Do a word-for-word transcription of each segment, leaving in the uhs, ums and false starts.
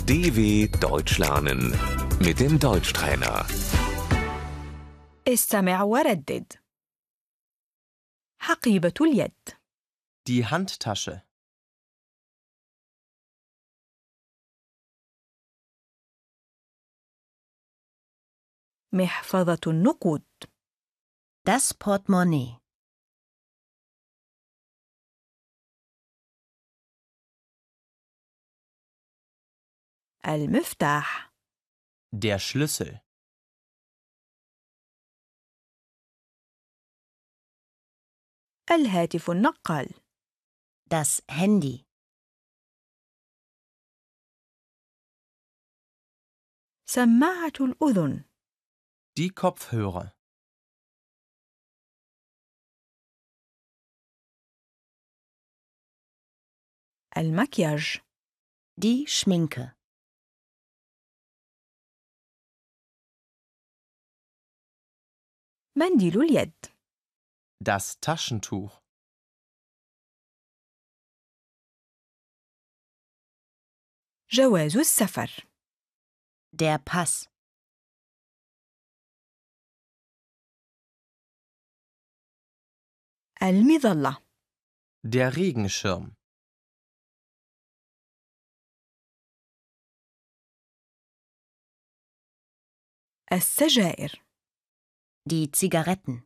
D W Deutsch lernen mit dem Deutschtrainer. استمع وردد. حقيبة اليد. Die Handtasche. محفظة النقود. Das Portemonnaie. المفتاح. Der Schlüssel. الهاتف النقال. Das Handy. سماعة الأذن. Die Kopfhörer. المكياج. Die Schminke. منديل اليد. Das Taschentuch. جواز السفر. Der Pass. المظلة. Der Regenschirm. السجائر. Die Zigaretten.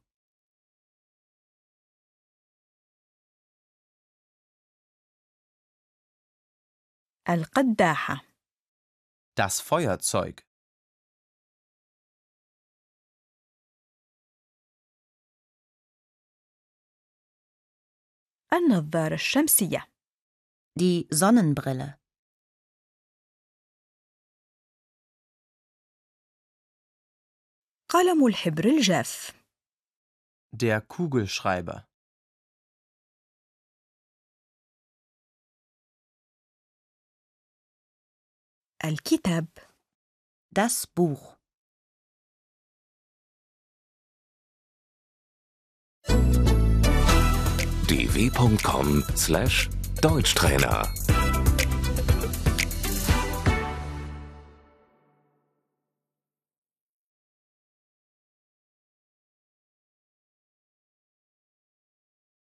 القداحة. Das Feuerzeug. النظارة الشمسية. Die Sonnenbrille. قلم الحبر الجاف. Der Kugelschreiber. الكتاب. Das Buch. d w punkt com slash Deutschtrainer